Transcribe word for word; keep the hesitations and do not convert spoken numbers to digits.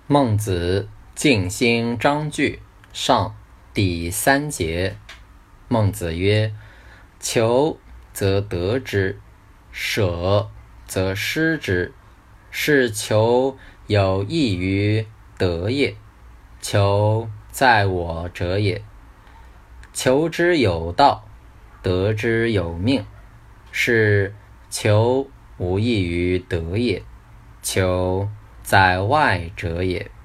孟子尽心章句上第三节。孟子曰：求则得之，舍则失之。是求有益于得也，求在我者也。求之有道，得之有命。是求无益于得也，求在外者也。